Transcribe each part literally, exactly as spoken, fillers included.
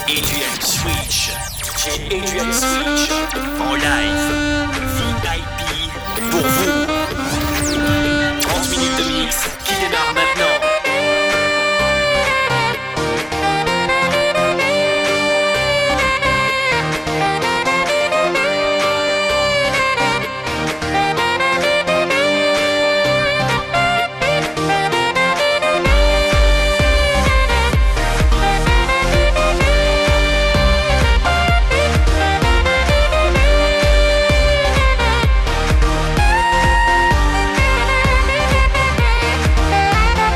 Adrian Switch. J'ai Adrian Switch en live. V I P pour vous. trente minutes de mix qui démarre maintenant. We'll be right back.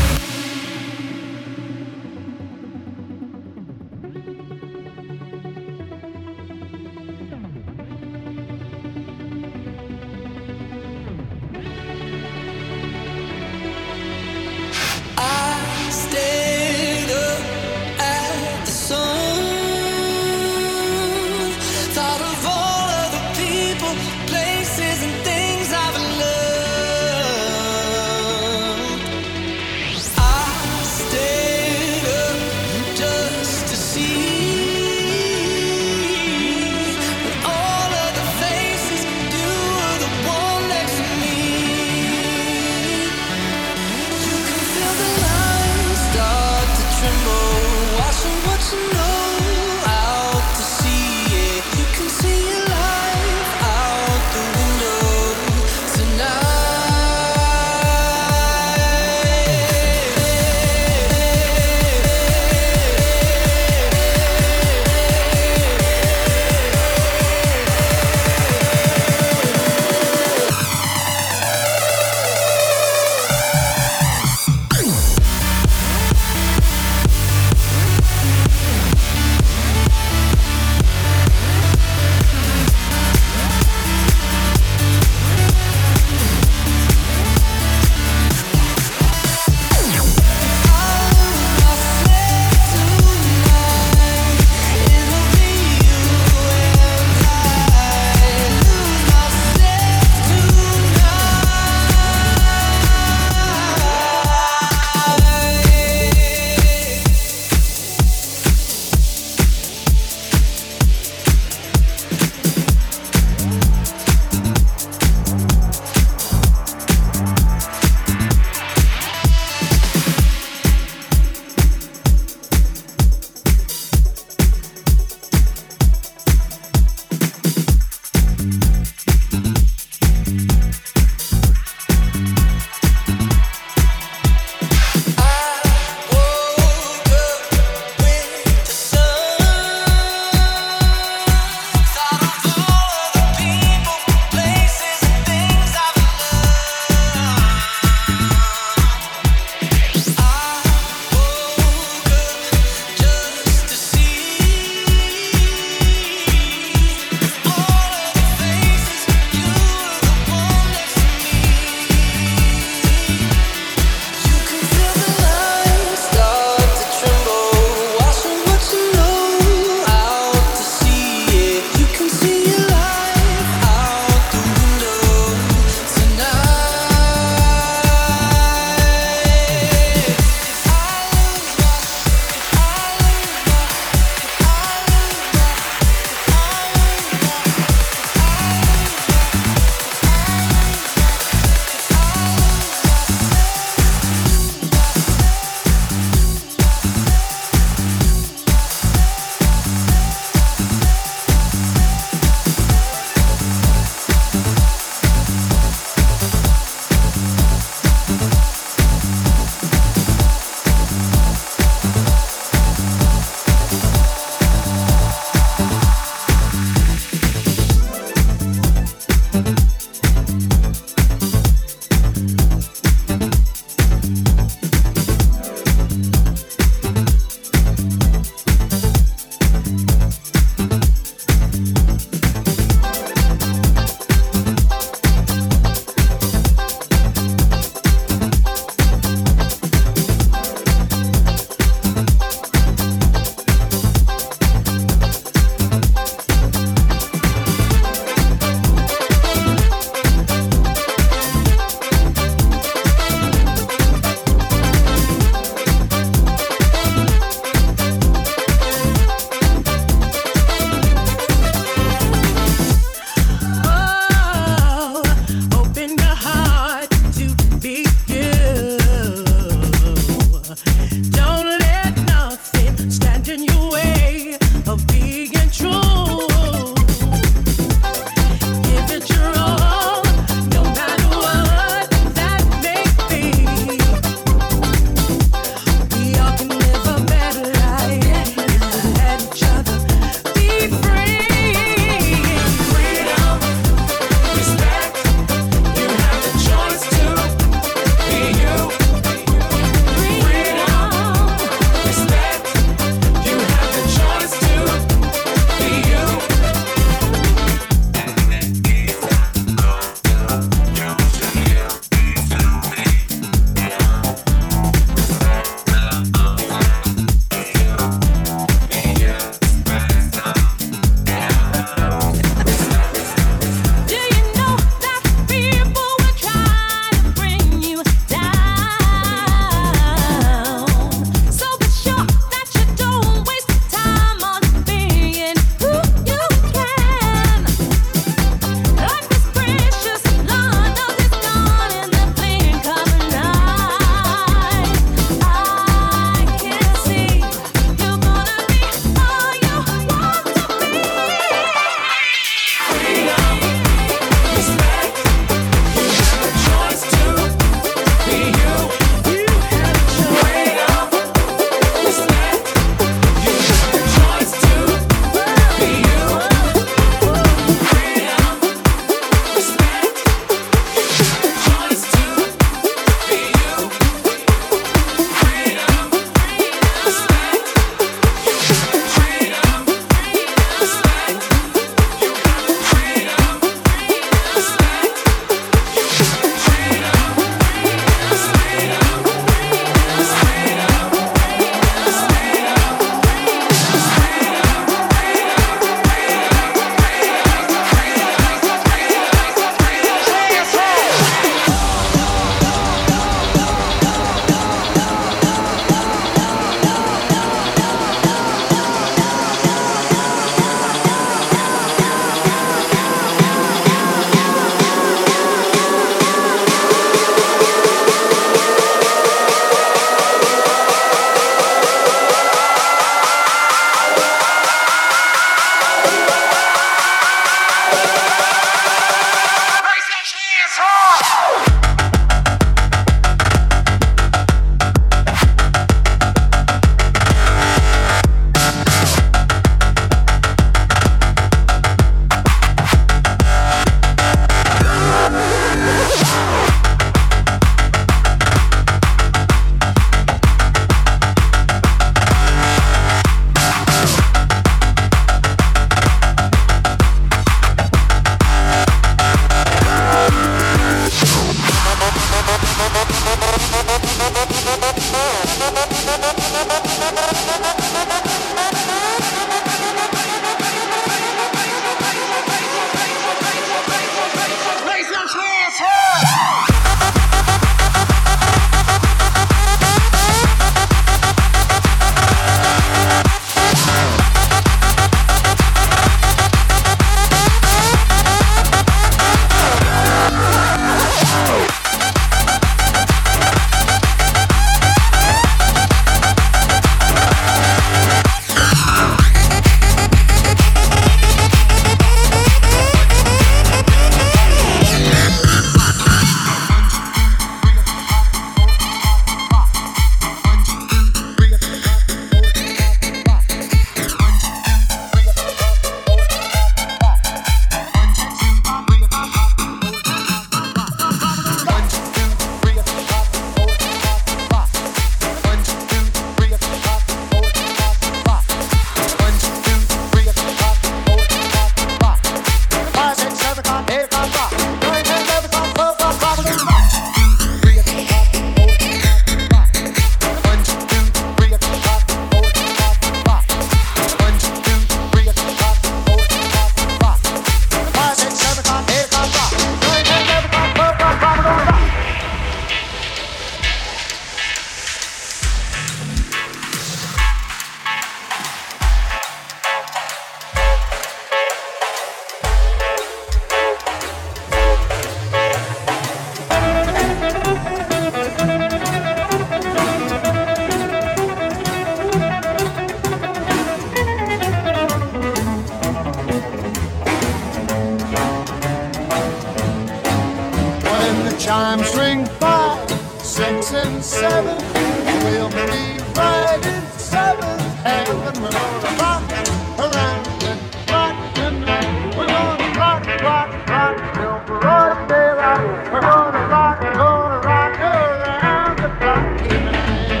in seven. We'll be riding seven heaven. We're gonna rock around and rock tonight. We're gonna rock, rock, rock till broad daylight. We're gonna rock, gonna rock around the clock tonight.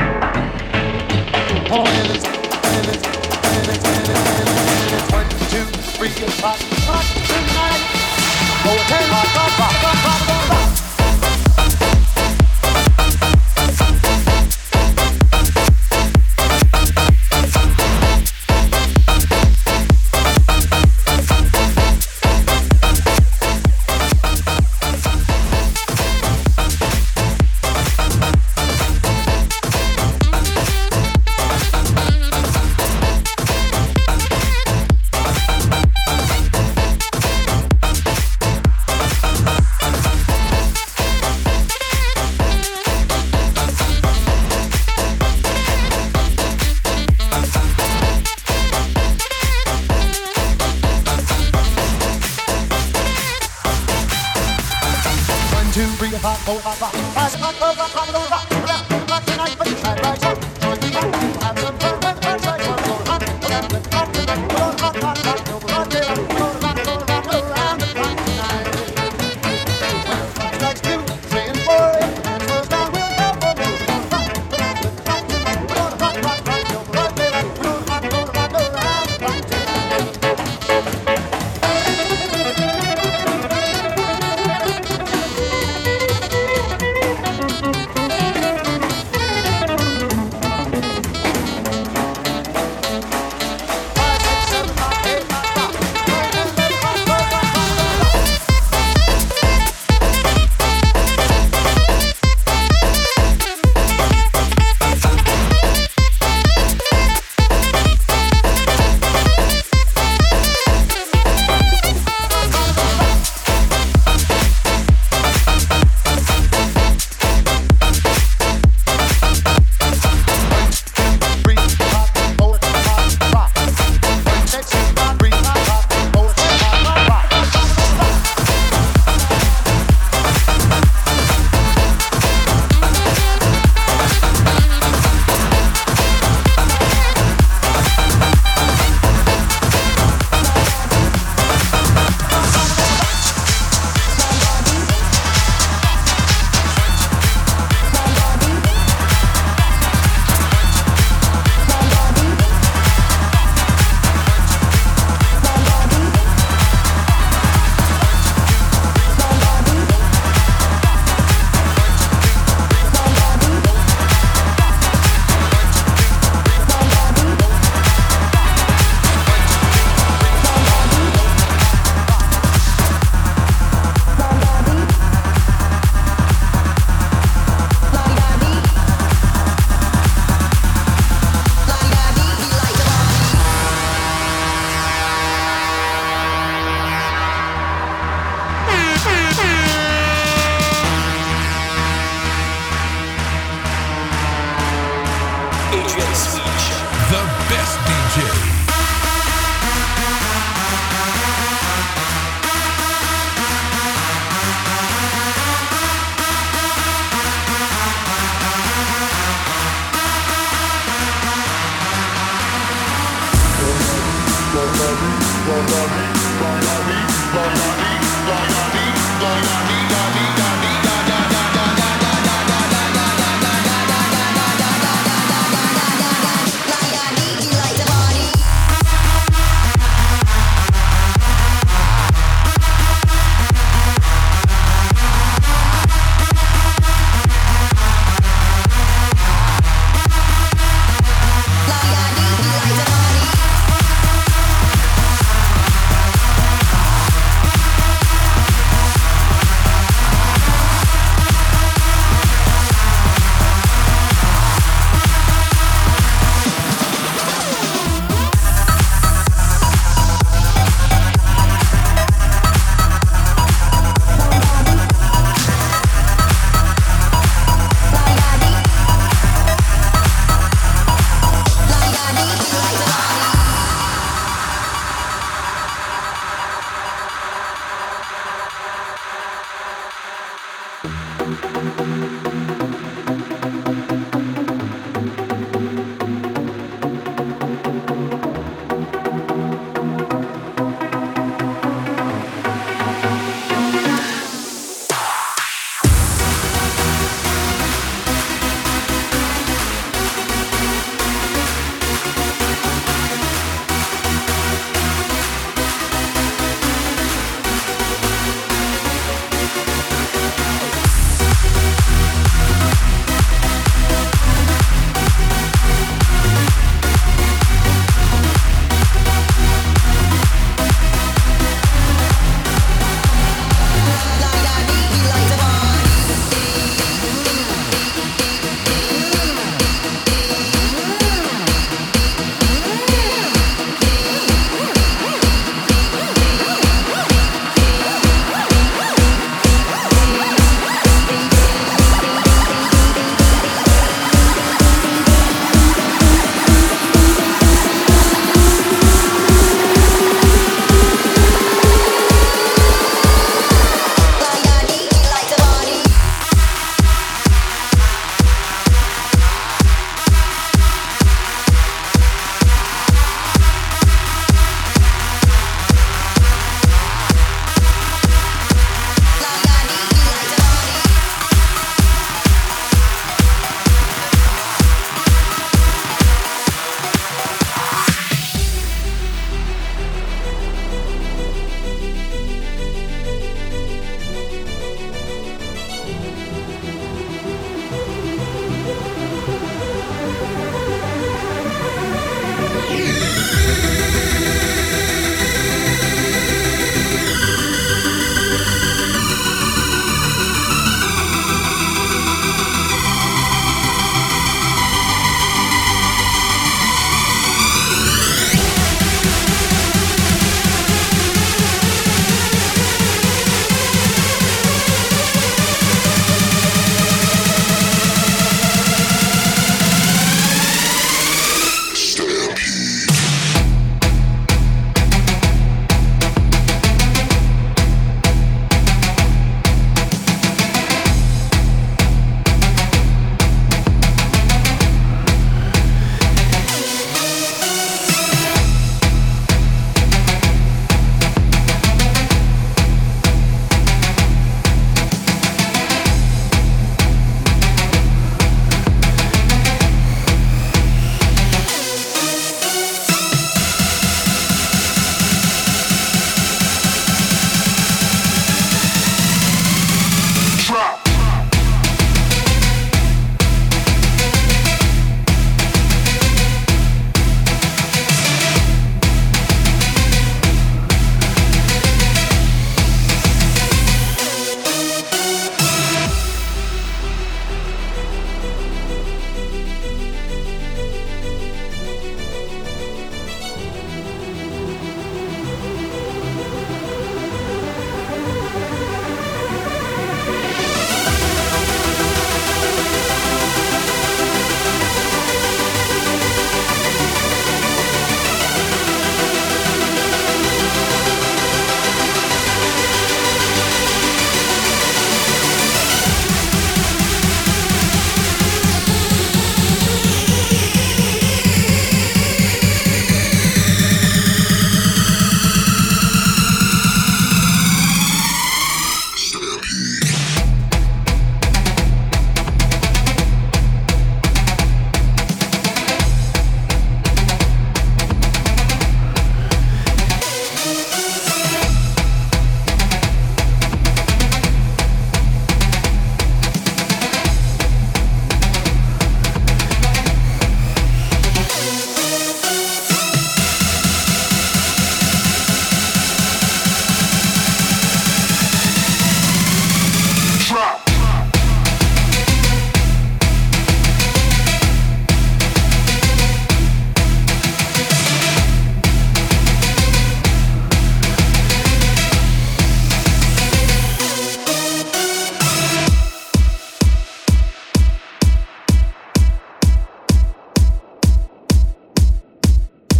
Oh, and it's, and it's, and it's, and it's, and it's, and it's one, two, three, it's rock, rock tonight. Oh, it's ten, rock, rock, rock, rock, rock, rock, rock.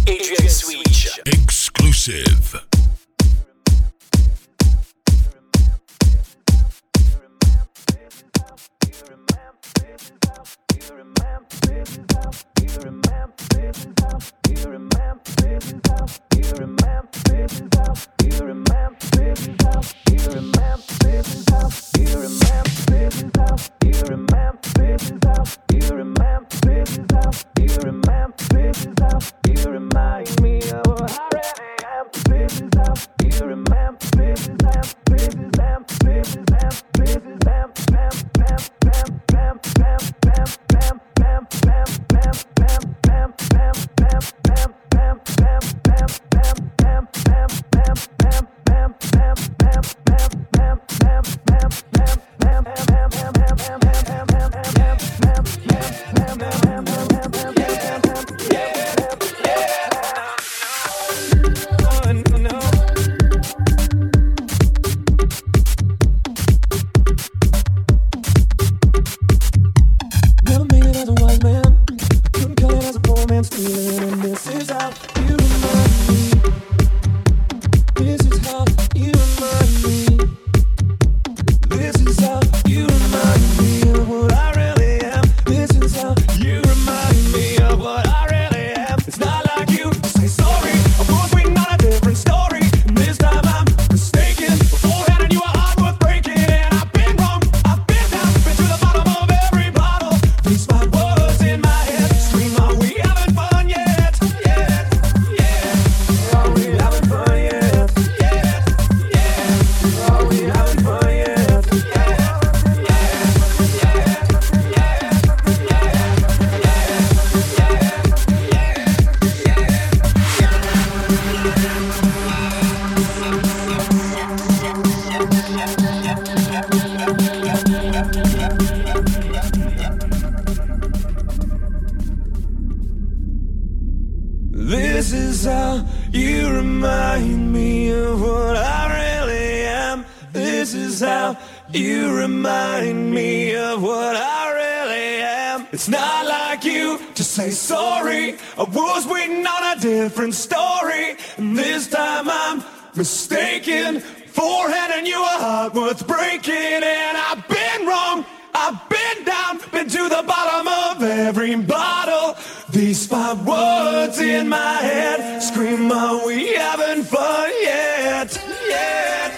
Adrian Switch. Exclusive. This is how you remind me of what I really am. This is how you remind me of what I really am. It's not like you to say sorry. I was waiting on a different story, and this time I'm mistaken for handing you a heart worth breaking. And I've been wrong, I've been down, been to the bottom of every bottle. These five words in my head scream, are we having fun yet? Yet,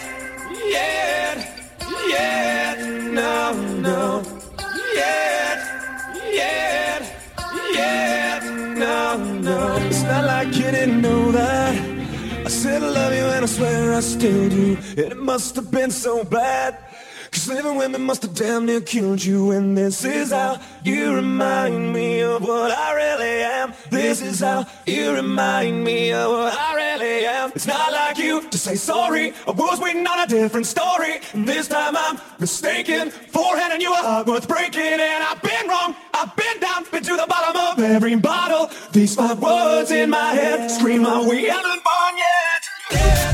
yet, yet, no, no. Yet, yet, yet, no, no. It's not like you didn't know that I said I love you and I swear I still do. And it must have been so bad, 'cause living with me must have damn near killed you. And this is how you remind me of what I really am. This is how you remind me of what I really am. It's not like you to say sorry. I was waiting on a different story, and this time I'm mistaken for handing you a heart worth breaking. And I've been wrong, I've been down, been to the bottom of every bottle. These five words in my head scream, are we having fun yet? Yeah.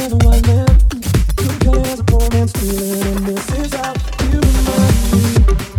Feeling, and this is how you remind me.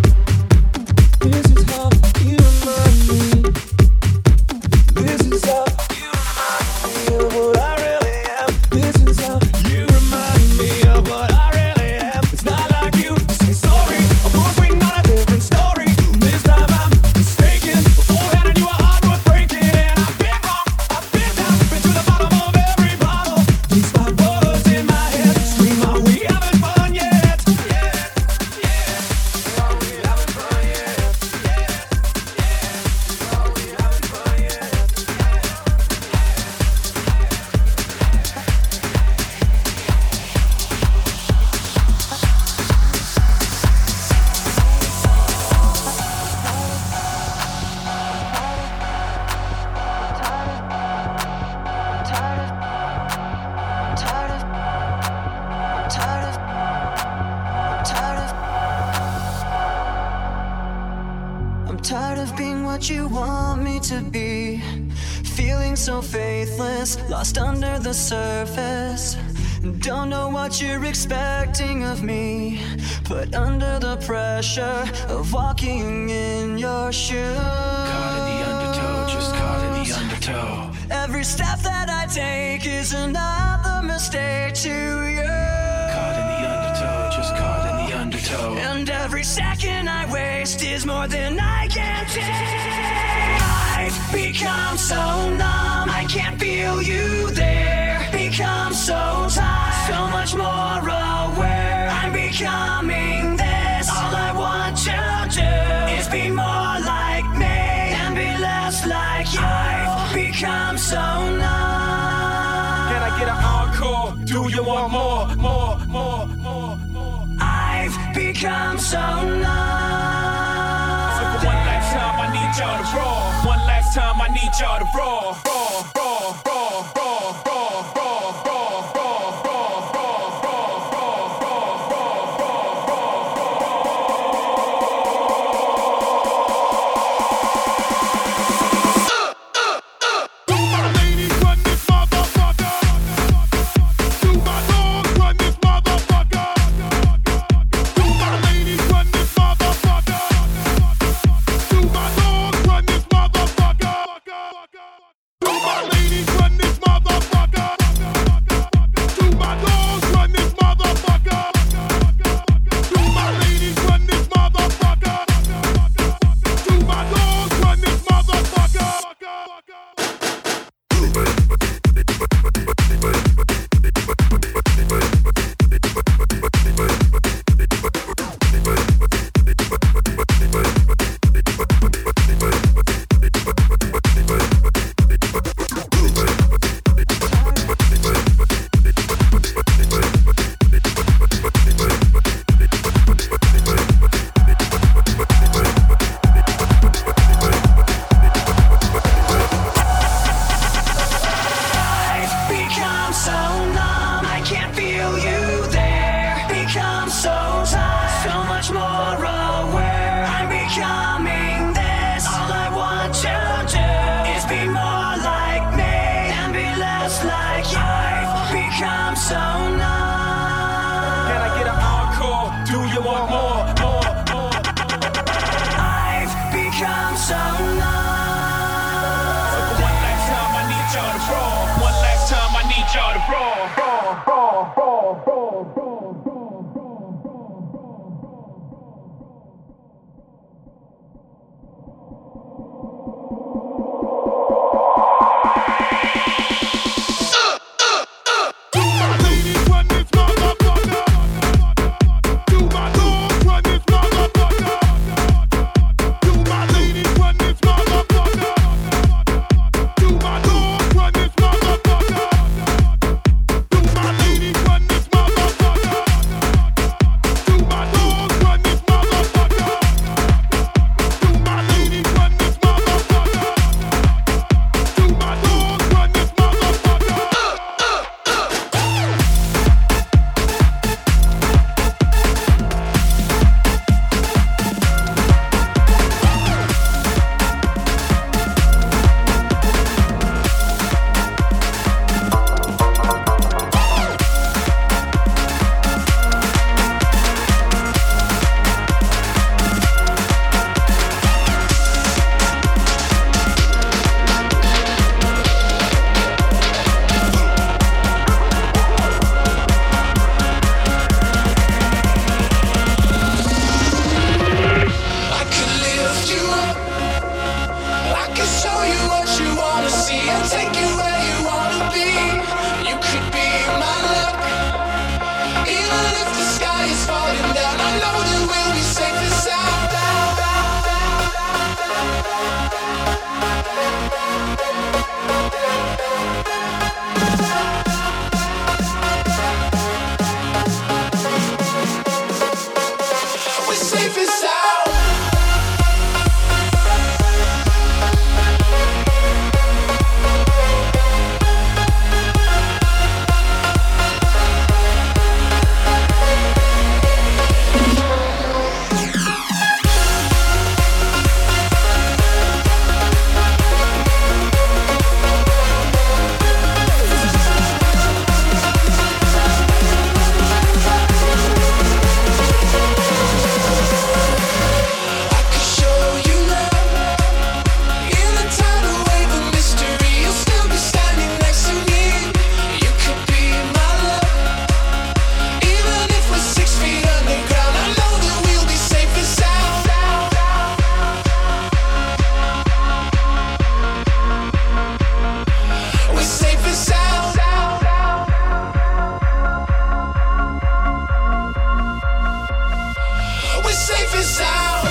tired of being what you want me to be. Feeling so faithless, lost under the surface. Don't know what you're expecting of me, but under the pressure of walking in your shoes. Caught in the undertow, just caught in the undertow. Every step that I take is another mistake to you. Caught in the undertow, just caught in the undertow. And every second I waste is more than I can take. I've become so numb, I can't feel you there. Become so tired, so much more aware. I'm becoming this. All I want to do is be more like me and be less like you. I've become so numb. Can I get an encore? Do you want more, more, more, more, more? I've become so numb. So for one last time, I need y'all to roll. One last time, I need y'all to roll. Roll, roll, roll, roll, roll, roll, roll, roll, roll, roll, roll, roll, roll, Do my ladies run this motherfucker? Do my dogs run this motherfucker? Do my ladies run this motherfucker? Do my dogs run this motherfucker? Do my ladies run this motherfucker? Do my dogs run this motherfucker? Do my ladies run this motherfucker? Do my dogs run this motherfucker? I've become so numb, I can't feel you there. Become so tired, so much more aware. I'm becoming this. All I want to do is be more like me and be less like you. I've become so numb. Can I get an encore? Do you want more, more, more, more? I've become so numb. So for one last time, I need y'all to roll. One last time, I need y'all to roll. Roll, roll, roll, roll, roll, roll. Do my ladies run this motherfucker? Do my dogs run this motherfucker? Do my ladies run this motherfucker? Do my dogs run this motherfucker? Do my ladies run this motherfucker? Do my dogs run this motherfucker? Do my ladies run this motherfucker? Do my dogs run this motherfucker? I could lift you up. I could show you what you wanna see and take you where you wanna be. You could be my luck. Even if the sky is falling down, I know that we'll be safe and sound. We're safe and sound. and sound.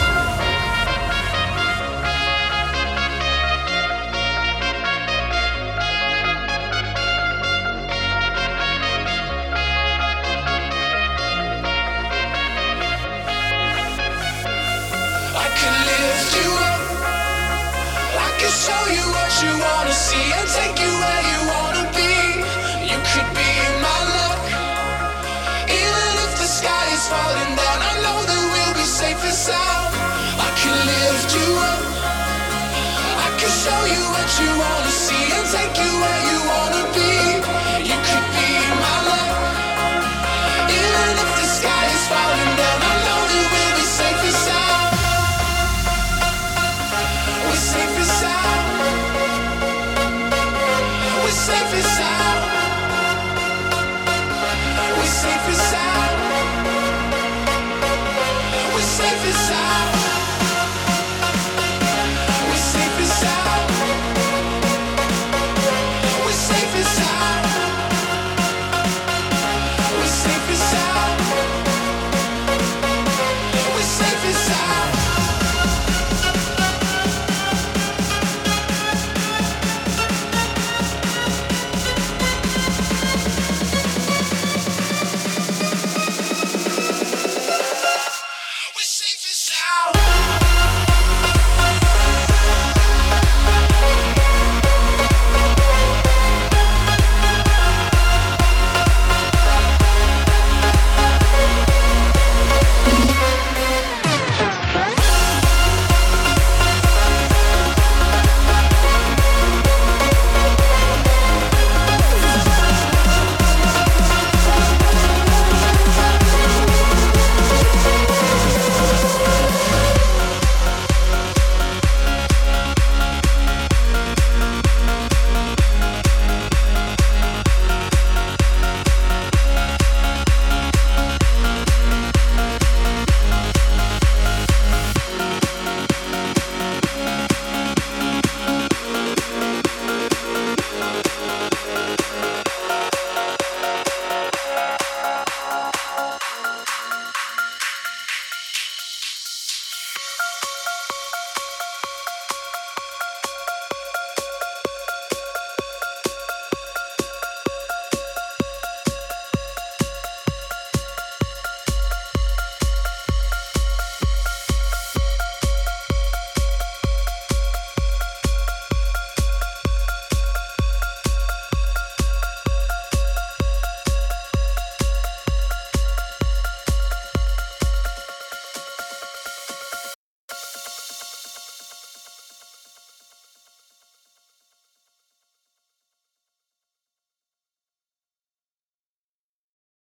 I can lift you up. I can show you what you wanna see and take you where you wanna be. You could be my luck. Even if the sky is falling down, I know that we'll be safe and sound. I can lift you up. I can show you what you wanna see and take you where you wanna be. You could be my luck. Even if the sky is falling down, I know that we'll be safe and sound. We're safe and sound. We're safe and sound. We're safe and sound. We're safe and sound.